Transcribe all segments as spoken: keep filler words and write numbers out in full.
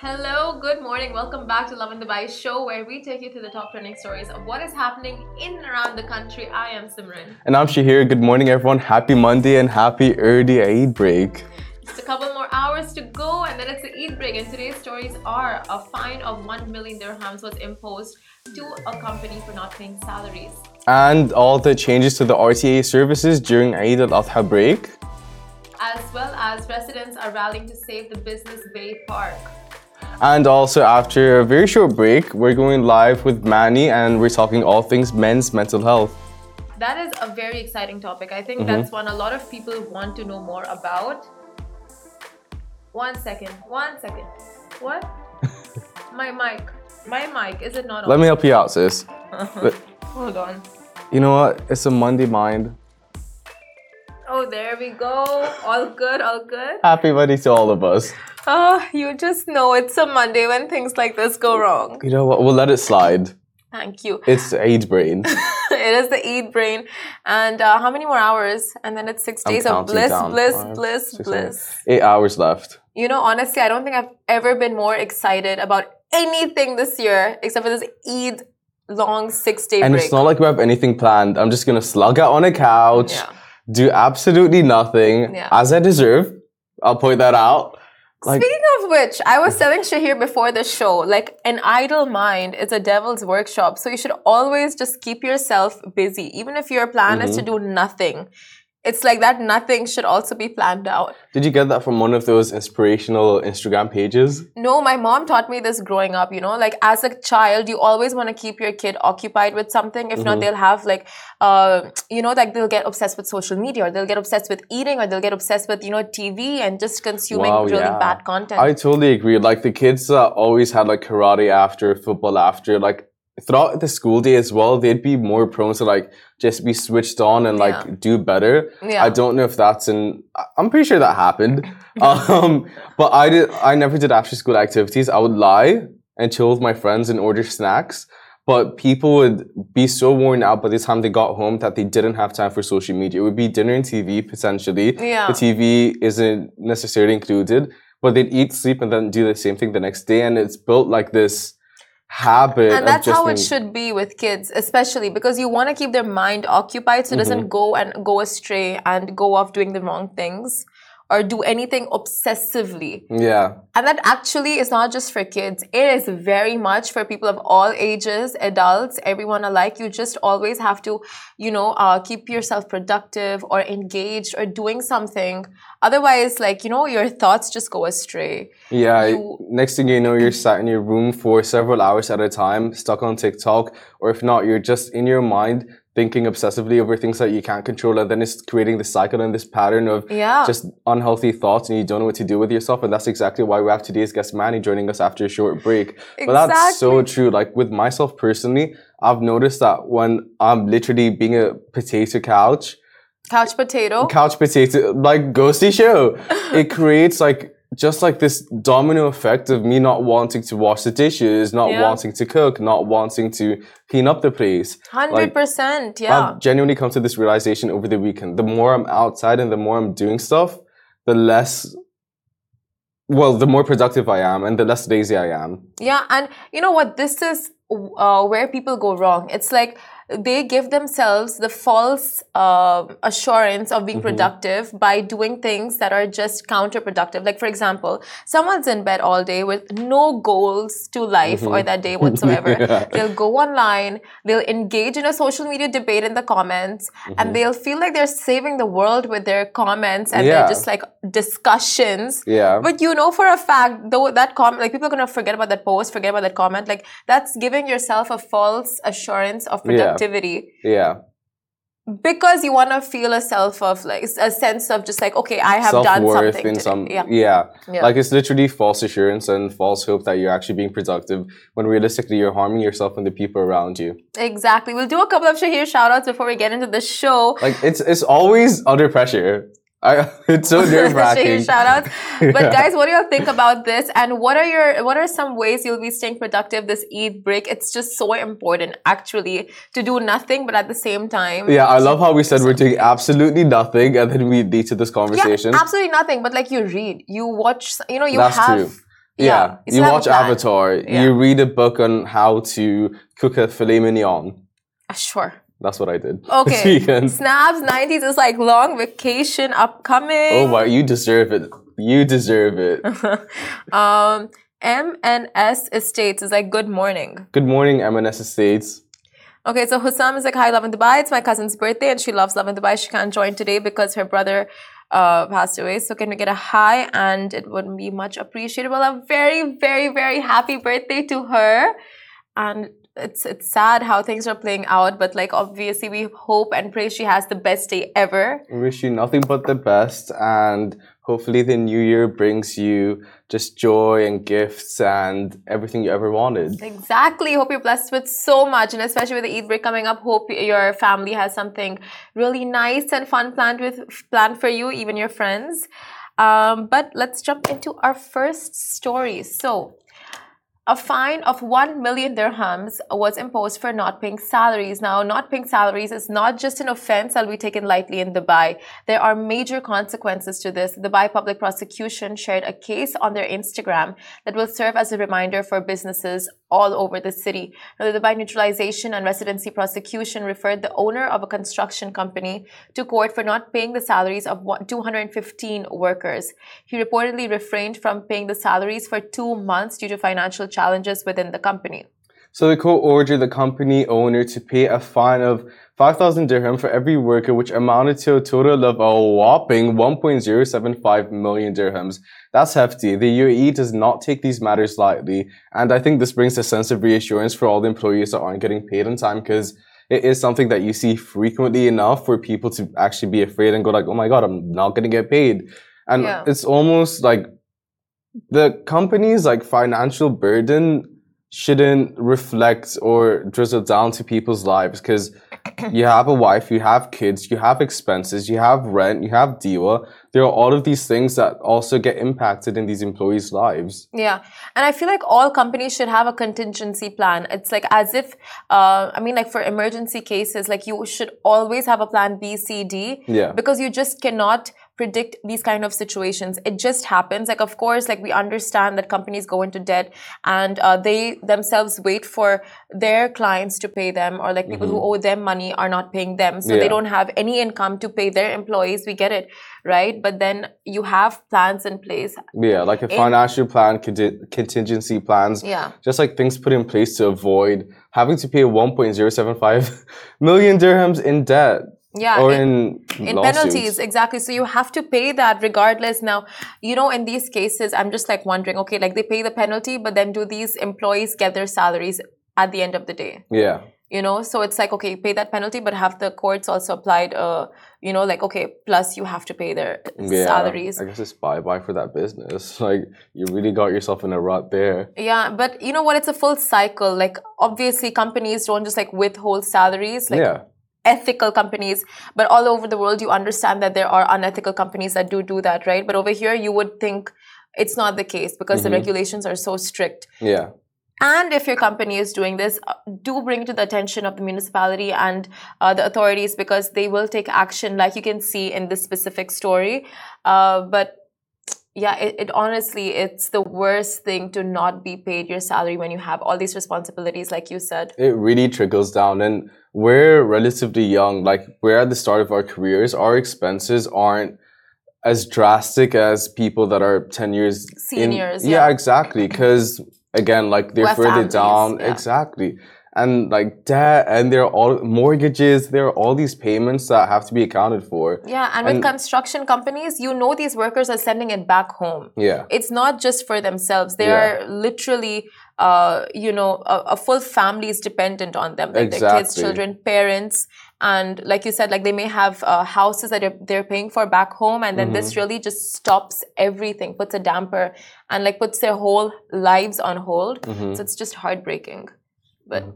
Hello, good morning. Welcome back to Love in Dubai show where we take you to the top trending stories of what is happening in and around the country. I am Simran. And I'm Shahir. Good morning, everyone. Happy Monday and happy early Eid break. Just a couple more hours to go and then it's the Eid break. And today's stories are a fine of one million dirhams was imposed to a company for not paying salaries. And all the changes to the R T A services during Eid al-Adha break. As well as residents are rallying to save the Business Bay Park. And also, after a very short break, we're going live with Manny and we're talking all things men's mental health. That is a very exciting topic. I think Mm-hmm. that's one a lot of people want to know more about. One second, one second. What? My mic. My mic, is it not on? Let me help you out, sis. But, Hold on. you know what? It's a Monday mind. Oh, there we go. All good, all good. Happy Monday to all of us. Oh, you just know it's a Monday when things like this go wrong. You know what? We'll let it slide. Thank you. It's Eid brain. It is the Eid brain. And uh, how many more hours? And then it's six I'm days of counting bliss, down. bliss, Five, bliss, six, bliss. seven, Eight hours left. You know, honestly, I don't think I've ever been more excited about anything this year except for this Eid long six-day And break. it's not like we have anything planned. I'm just going to slug out on a couch, Yeah. do absolutely nothing, Yeah. as I deserve. I'll point that out. Like, Speaking of which, I was telling Shahir before the show, like an idle mind is a devil's workshop. So you should always just keep yourself busy. Even if your plan is to do nothing, it's like that nothing should also be planned out. did you get that from one of those inspirational Instagram pages? No, my mom taught me this growing up, you know, like as a child, you always want to keep your kid occupied with something. If not, they'll have like, uh, you know, like they'll get obsessed with social media or they'll get obsessed with eating or they'll get obsessed with, you know, T V and just consuming Wow, really yeah. bad content. I totally agree. Like the kids uh, always had like karate after, football after, like throughout the school day as well, they'd be more prone to like just be switched on and like Yeah. do better. Yeah. I don't know if that's in, I- I'm pretty sure that happened. um, but I did, I never did after school activities. I would lie and chill with my friends and order snacks. But people would be so worn out by the time they got home that they didn't have time for social media. It would be dinner and T V potentially. Yeah. The T V isn't necessarily included, but they'd eat, sleep, and then do the same thing the next day. And it's built like this habit. And that's of just how it being- should be with kids, especially because you want to keep their mind occupied so it doesn't go and go astray and go off doing the wrong things or do anything obsessively. Yeah. And that actually is not just for kids. It is very much for people of all ages, adults, everyone alike. You just always have to, you know, uh, keep yourself productive or engaged or doing something. Otherwise, like, you know, your thoughts just go astray. Yeah. You- Next thing you know, you're sat in your room for several hours at a time, stuck on TikTok, or if not, you're just in your mind thinking obsessively over things that you can't control, and then it's creating this cycle and this pattern of Yeah. just unhealthy thoughts, and you don't know what to do with yourself. And that's exactly why we have today's guest Manny joining us after a short break. But that's so true. Like with myself personally, I've noticed that when I'm literally being a potato couch, Couch potato. couch potato, like ghosty show, it creates like just like this domino effect of me not wanting to wash the dishes, not Yeah. wanting to cook, not wanting to clean up the place. one hundred percent, yeah. I've genuinely come to this realization over the weekend. The more I'm outside and the more I'm doing stuff, the less, well, the more productive I am and the less lazy I am. Yeah, and you know what? This is uh, where people go wrong. It's like they give themselves the false uh, assurance of being Mm-hmm. productive by doing things that are just counterproductive. Like, for example, someone's in bed all day with no goals to life or that day whatsoever. Mm-hmm. Yeah. They'll go online, they'll engage in a social media debate in the comments, Mm-hmm. and they'll feel like they're saving the world with their comments and Yeah. they're just like discussions. Yeah. But you know for a fact, though that comment, like people are gonna forget about that post, forget about that comment. Like that's giving yourself a false assurance of productivity Yeah. because you want to feel a self of like a sense of just like, okay, I have done Self-worth something in today. some, yeah. yeah. Yeah. Like it's literally false assurance and false hope that you're actually being productive when realistically you're harming yourself and the people around you. Exactly. We'll do a couple of Shahir shout outs before we get into the show. Like it's it's always under pressure. I, it's so nerve wracking. Shahir shout outs. But guys, what do y'all think about this? And what are your what are some ways you'll be staying productive this Eid break? It's just so important actually to do nothing, but at the same time. Yeah, I love how we said we're doing absolutely nothing and then we lead to this conversation. Yeah, absolutely nothing. But like you read, you watch, you know, you That's have true. Yeah, Yeah, you still have a watch plan. Avatar. Yeah. You read a book on how to cook a filet mignon. Uh, Sure. That's what I did this Okay. weekend. Snaps nineties is like long vacation upcoming. Oh my, you deserve it. You deserve it. um, M N S Estates is like good morning. Good morning, M N S Estates. Okay, so Hussam is like, hi, Love in Dubai. It's my cousin's birthday and she loves Love in Dubai. She can't join today because her brother uh, passed away. So can we get a hi? And it would be much appreciated. Well, a very, very, very happy birthday to her. And it's it's sad how things are playing out, but like obviously we hope and pray she has the best day ever. We wish you nothing but the best, and hopefully the new year brings you just joy and gifts and everything you ever wanted. Exactly. Hope you're blessed with so much, and especially with the Eid break coming up, hope your family has something really nice and fun planned with planned for you, even your friends. Um, but let's jump into our first story. So, a fine of one million dirhams was imposed for not paying salaries. Now, not paying salaries is not just an offense that will be taken lightly in Dubai. There are major consequences to this. The Dubai Public Prosecution shared a case on their Instagram that will serve as a reminder for businesses all over the city. Now, the Dubai Neutralization and Residency Prosecution referred the owner of a construction company to court for not paying the salaries of two hundred fifteen workers. He reportedly refrained from paying the salaries for two months due to financial challenges within the company. So the court ordered the company owner to pay a fine of five thousand dirham for every worker, which amounted to a total of a whopping one point zero seven five million dirhams. That's hefty. The U A E does not take these matters lightly. And I think this brings a sense of reassurance for all the employees that aren't getting paid on time, because it is something that you see frequently enough for people to actually be afraid and go like, oh my God, I'm not going to get paid. And Yeah. it's almost like the company's like financial burden shouldn't reflect or drizzle down to people's lives, because you have a wife, you have kids, you have expenses, you have rent, you have diwa. There are all of these things that also get impacted in these employees' lives. Yeah. And I feel like all companies should have a contingency plan. It's like as if, uh, I mean, like for emergency cases, like you should always have a plan B, C, D. Yeah. Because you just cannot predict these kind of situations. It just happens. Like, of course, like we understand that companies go into debt and uh, they themselves wait for their clients to pay them, or like people Mm-hmm. who owe them money are not paying them. So Yeah. they don't have any income to pay their employees. We get it, right? But then you have plans in place. Yeah, like a financial plan, conti- contingency plans. Yeah. Just like things put in place to avoid having to pay one point zero seven five million dirhams in debt. Yeah. Or it- in, in lawsuits. penalties, exactly. So you have to pay that regardless. Now, you know, in these cases, I'm just like wondering, okay, like they pay the penalty, but then do these employees get their salaries at the end of the day? Yeah. You know, so it's like, okay, pay that penalty, but have the courts also applied, uh, you know, like, okay, plus you have to pay their Yeah. salaries. I guess it's bye-bye for that business. Like, you really got yourself in a rut there. Yeah, but you know what? It's a full cycle. Like, obviously, companies don't just like withhold salaries. Like, Yeah. ethical companies, but all over the world you understand that there are unethical companies that do do that, right? But over here you would think it's not the case because Mm-hmm. the regulations are so strict. Yeah. And if your company is doing this, uh, do bring it to the attention of the municipality and uh, the authorities, because they will take action, like you can see in this specific story. Uh, but yeah, it, it honestly, it's the worst thing to not be paid your salary when you have all these responsibilities, like you said. It really trickles down, and we're relatively young. Like, we're at the start of our careers. Our expenses aren't as drastic as people that are ten years in- Seniors, yeah, yeah. exactly. Because again, like they're Who have further families, down. yeah. Exactly. And like debt, and there are all mortgages, there are all these payments that have to be accounted for. Yeah, and with And- construction companies, you know these workers are sending it back home. Yeah. It's not just for themselves. They Yeah. are literally, uh, you know, a, a full family is dependent on them. Like their kids, Exactly. children, parents. And like you said, like they may have uh, houses that they're, they're paying for back home. And then Mm-hmm. this really just stops everything, puts a damper and like puts their whole lives on hold. Mm-hmm. So it's just heartbreaking. But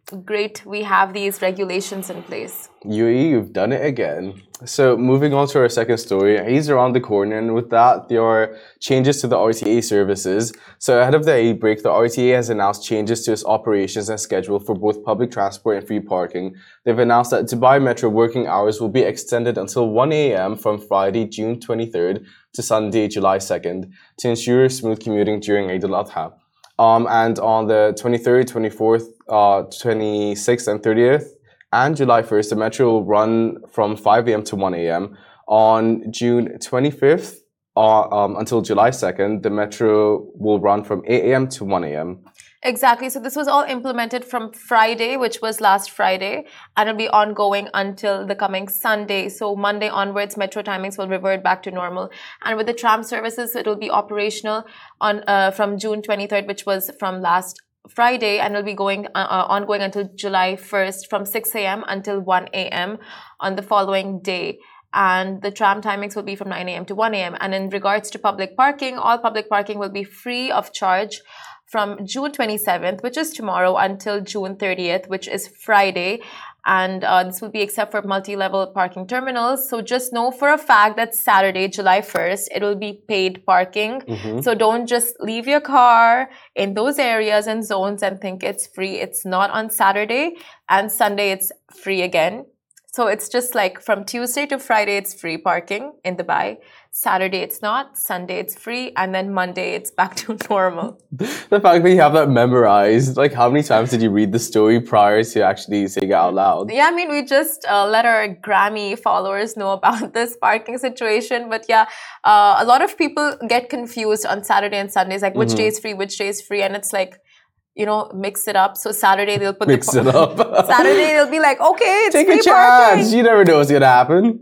Great, we have these regulations in place. U A E, you've done it again. So moving on to our second story, Eid's around the corner, and with that, there are changes to the R T A services. So ahead of the Eid break, the R T A has announced changes to its operations and schedule for both public transport and free parking. They've announced that Dubai Metro working hours will be extended until one A M from Friday, June twenty-third to Sunday, July second, to ensure smooth commuting during Eid al-Adha. Um, and on the twenty-third, twenty-fourth, uh, twenty-sixth, and thirtieth, and July first, the metro will run from five A M to one A M. On June twenty-fifth uh, um, until July second, the metro will run from eight A M to one A M. Exactly. So this was all implemented from Friday, which was last Friday, and it'll be ongoing until the coming Sunday. So Monday onwards, metro timings will revert back to normal. And with the tram services, it'll be operational on uh, from June twenty-third, which was from last Friday, and it'll be going uh, uh, ongoing until July first from six A M until one A M on the following day. And the tram timings will be from nine A M to one A M. And in regards to public parking, all public parking will be free of charge from June twenty-seventh, which is tomorrow, until June thirtieth, which is Friday. And uh, this will be except for multi-level parking terminals. So just know for a fact that Saturday, July first, it will be paid parking. Mm-hmm. So don't just leave your car in those areas and zones and think it's free. It's not on Saturday, and Sunday it's free again. So it's just like from Tuesday to Friday, it's free parking in Dubai. Saturday, it's not. Sunday, it's free. And then Monday, it's back to normal. The fact that you have that memorized, like how many times did you read the story prior to actually saying it out loud? Yeah, I mean, we just uh, let our Grammy followers know about this parking situation. But yeah, uh, a lot of people get confused on Saturday and Sundays, like which Mm-hmm. day is free, which day is free. And it's like, you know, mix it up. So Saturday, they'll put Mix the... it up. Saturday, they'll be like, okay, it's Take free a chance. parking. You never know what's going to happen.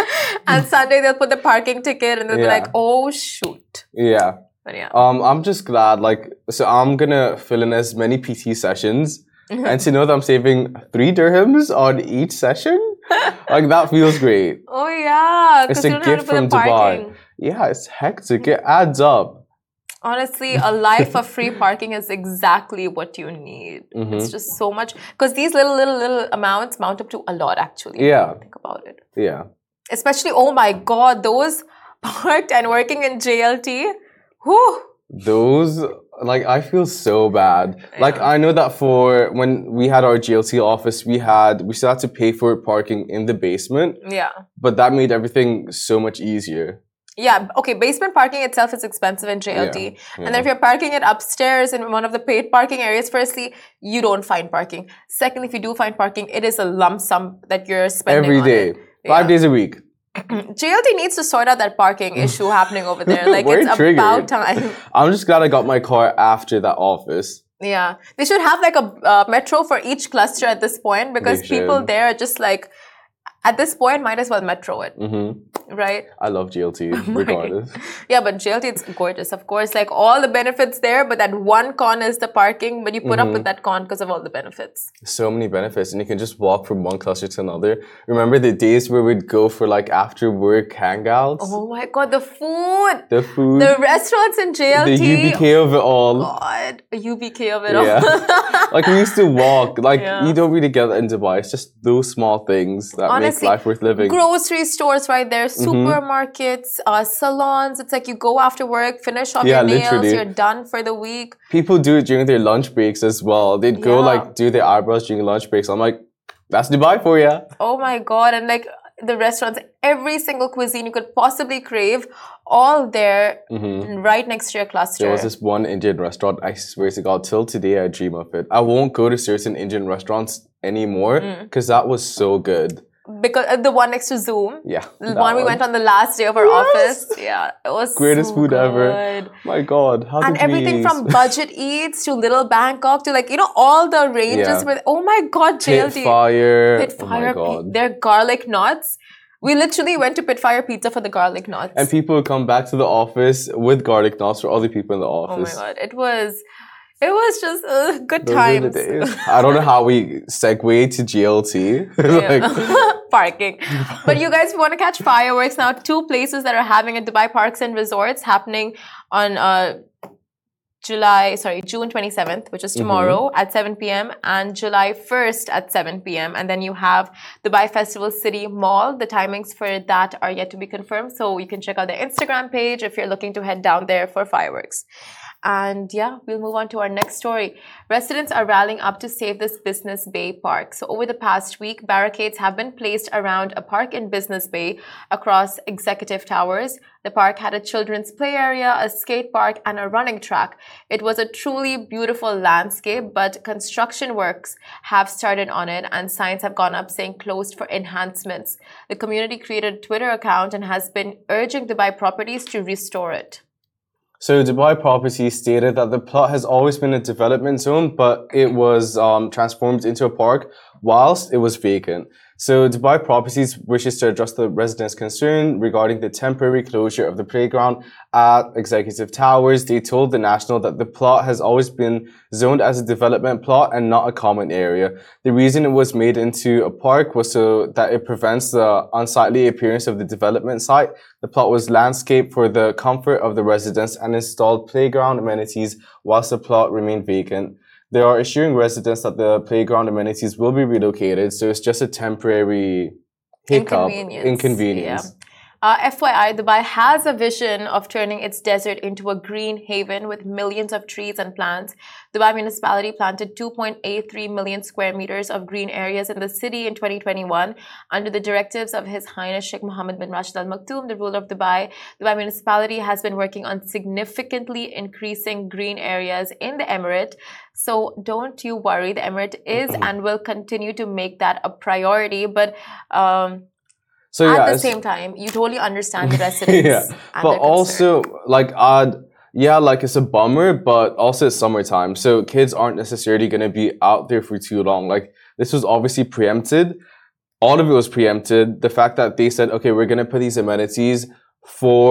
And Sunday, they'll put the parking ticket and they'll be Yeah. like, oh, shoot. Yeah. But yeah. Um, I'm just glad, like, so I'm gonna fill in as many P T sessions, and to know that I'm saving three dirhams on each session, like that feels great. Oh yeah, It's because a you don't have gift to put from the parking. Dubai. Yeah, it's hectic. It adds up. Honestly, a life of free parking is exactly what you need. Mm-hmm. It's just so much, because these little, little, little amounts mount up to a lot actually. Yeah. Think about it. Yeah. Especially, oh my God, those parked and working in J L T. Whew. Those, like, I feel so bad. Like, Yeah. I know that for when we had our G L T office, we had, we still had to pay for parking in the basement, Yeah. but that made everything so much easier. Yeah, okay, basement parking itself is expensive in J L T. Yeah, And yeah. then if you're parking it upstairs in one of the paid parking areas, firstly, you don't find parking. Secondly, if you do find parking, it is a lump sum that you're spending Every on day. it. Five Yeah. days a week. J L T needs to sort out that parking issue happening over there. Like, We're it's triggered. about time. I'm just glad I got my car after that office. Yeah. They should have like a uh, metro for each cluster at this point, because They people should. there are just like, at this point, might as well metro it, hmm right? I love G L T, regardless. Yeah, but J L T, it's gorgeous, of course. Like, all the benefits there, but that one con is the parking. But you put up Mm-hmm. with that con because of all the benefits. So many benefits, and you can just walk from one cluster to another. Remember the days where we'd go for like after work hangouts? Oh my God, the food! The food, The restaurants in J L T. the U B K of it all. God, a U B K of it all. Yeah. Like, we used to walk. Like, Yeah. you don't really get that in Dubai. It's just those small things that Honestly, make life worth living. Grocery stores right there, Mm-hmm. supermarkets, uh, salons. It's like you go after work, finish off Yeah, your nails, literally. you're done for the week. People do it during their lunch breaks as well. They'd go Yeah. like do their eyebrows during lunch breaks. I'm like, that's Dubai for you. Oh my God. And like the restaurants, every single cuisine you could possibly crave, all there right next to your cluster. There was this one Indian restaurant, I swear to God, till today I dream of it. I won't go to certain Indian restaurants anymore because that was so good. Because uh, the one next to Zoom. Yeah. The that one we went on the last day of our Yes. office. Yeah, it was Greatest so food ever. good. My God. How And did everything we... from budget eats to Little Bangkok to like, you know, all the ranges Yeah. with, oh my God, J L T. Pitfire. Pitfire, Oh my God. their garlic knots. We literally went to Pitfire Pizza for the garlic knots. And people would come back to the office with garlic knots for other people in the Oh my office. God, it was, it was just uh, good Those are the times. days. I don't know how we segue to G L T. like, Parking. But you guys want to catch fireworks now. Two places that are having a Dubai Parks and Resorts happening on uh, July, sorry, June twenty-seventh, which is tomorrow Mm-hmm. at seven p m and July first at seven p m And then you have Dubai Festival City Mall. The timings for that are yet to be confirmed. So you can check out their Instagram page if you're looking to head down there for fireworks. And yeah, we'll move on to our next story. Residents are rallying up to save this Business Bay Park. So over the past week, barricades have been placed around a park in Business Bay across executive towers. The park had a children's play area, a skate park, and a running track. It was a truly beautiful landscape, but construction works have started on it and signs have gone up saying closed for enhancements. The community created a Twitter account and has been urging Dubai Properties to restore it. So Dubai Properties stated that the plot has always been a development zone, but it was um, transformed into a park whilst it was vacant. So Dubai Properties wishes to address the residents' concern regarding the temporary closure of the playground at Executive Towers. They told The National that the plot has always been zoned as a development plot and not a common area. The reason it was made into a park was so that it prevents the unsightly appearance of the development site. The plot was landscaped for the comfort of the residents and installed playground amenities whilst the plot remained vacant. They are assuring residents that the playground amenities will be relocated, so it's just a temporary hiccup, Inconvenience. inconvenience. Yeah. Uh, F Y I, Dubai has a vision of turning its desert into a green haven with millions of trees and plants. Dubai municipality planted two point eight three million square meters of green areas in the city in twenty twenty-one under the directives of His Highness Sheikh Mohammed bin Rashid Al Maktoum, the ruler of Dubai. Dubai municipality has been working on significantly increasing green areas in the emirate. So don't you worry, the emirate is and will continue to make that a priority. But um, So yeah, at the it's- same time, you totally understand the residents. yeah, and but their also like I'd yeah, like it's a bummer, but also it's summertime, so kids aren't necessarily going to be out there for too long. Like this was obviously preempted. All of it was preempted. The fact that they said, okay, we're going to put these amenities for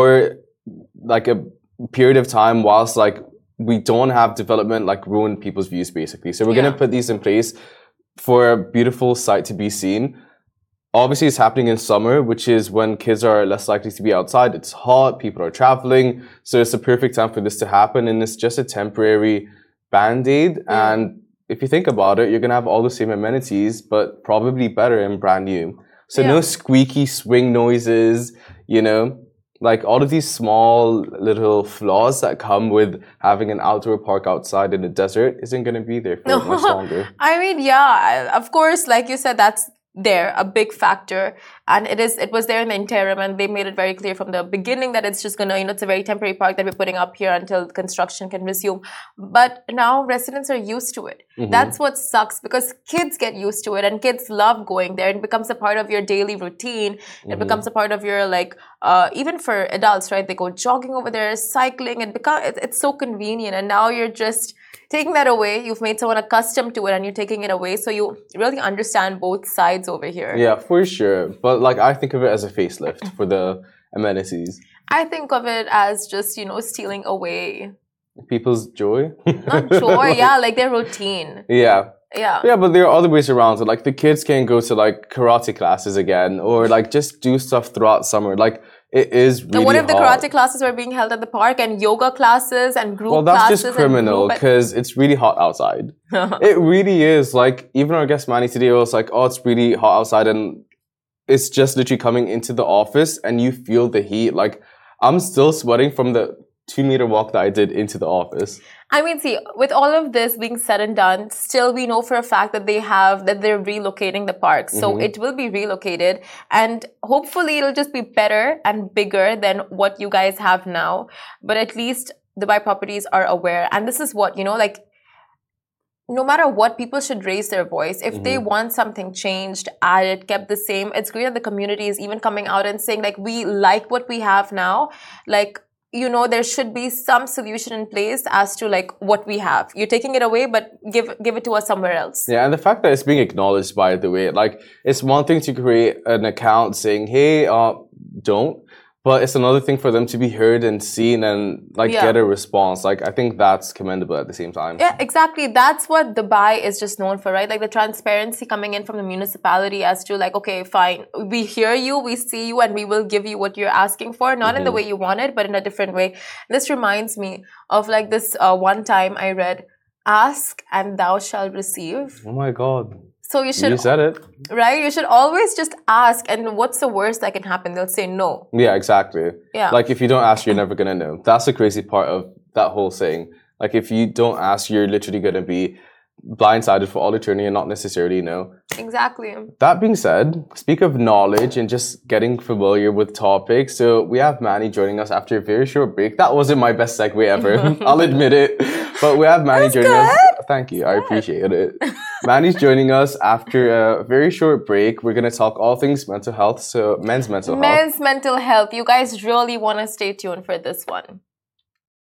like a period of time whilst like we don't have development like ruin people's views basically. So we're Yeah. going to put these in place for a beautiful sight to be seen. Obviously, it's happening in summer, which is when kids are less likely to be outside. It's hot, people are traveling, so it's the perfect time for this to happen. And it's just a temporary band-aid. Yeah. And if you think about it, you're gonna have all the same amenities, but probably better and brand new. So Yeah. no squeaky swing noises, you know, like all of these small little flaws that come with having an outdoor park outside in the desert isn't gonna be there for much longer. I mean, yeah, I- of course, like you said, that's there, a big factor. And it is, it was there in the interim, and they made it very clear from the beginning that it's just gonna, you know, it's a very temporary park that we're putting up here until construction can resume. But now residents are used to it. Mhm. That's what sucks, because kids get used to it and kids love going there. It becomes a part of your daily routine. It Mhm. becomes a part of your, like, uh, even for adults, right? They go jogging over there, cycling. It become, it, it's so convenient. And now you're just taking that away. You've made someone accustomed to it and you're taking it away. So you really understand both sides over here. Yeah, for sure. But like I think of it as a facelift for the amenities. I think of it as just, you know, stealing away. People's joy. Not joy, yeah, like their routine. Yeah. Yeah. Yeah, but there are other ways around it. Like the kids can go to like karate classes again, or like just do stuff throughout summer. Like it is really Now, what if the hot. karate classes were being held at the park and yoga classes and group Well, that's classes just criminal and group... because it's really hot outside. It really is. Like even our guest Manny today was like, "Oh, it's really hot outside," and it's just literally coming into the office and you feel the heat. Like I'm still sweating from the two meter walk that I did into the office. I mean, see, with all of this being said and done, still we know for a fact that they have, that they're relocating the park. So Mhm. it will be relocated and hopefully it'll just be better and bigger than what you guys have now. But at least Dubai Properties are aware. And this is what, you know, like, no matter what, people should raise their voice. If they Mhm. want something changed, added, kept the same, it's great that the community is even coming out and saying, like, we like what we have now. Like, you know, there should be some solution in place as to like what we have. You're taking it away, but give give it to us somewhere else. Yeah, and the fact that it's being acknowledged, by the way, like it's one thing to create an account saying, "Hey, uh, don't," But it's another thing for them to be heard and seen and like Yeah. get a response. Like I think that's commendable at the same time. Yeah, exactly. That's what Dubai is just known for, right? Like the transparency coming in from the municipality as to like, okay, fine, we hear you, we see you, and we will give you what you're asking for, not in the way you want it, but in a different way. This reminds me of like this uh, one time I read, "Ask and thou shalt receive." Oh my God. So you should, You said it. right? You should always just ask, and what's the worst that can happen? They'll say no. Yeah, exactly. Yeah. Like if you don't ask, you're never gonna know. That's the crazy part of that whole saying. Like if you don't ask, you're literally gonna be blindsided for all eternity and not necessarily know. Exactly. That being said, speak of knowledge and just getting familiar with topics. So we have Manny joining us after a very short break. That wasn't my best segue ever. I'll admit it. But we have Manny joining us. Thank you. I appreciate it. Manny's joining us after a very short break. We're going to talk all things mental health. So men's mental health. Men's mental health. You guys really want to stay tuned for this one.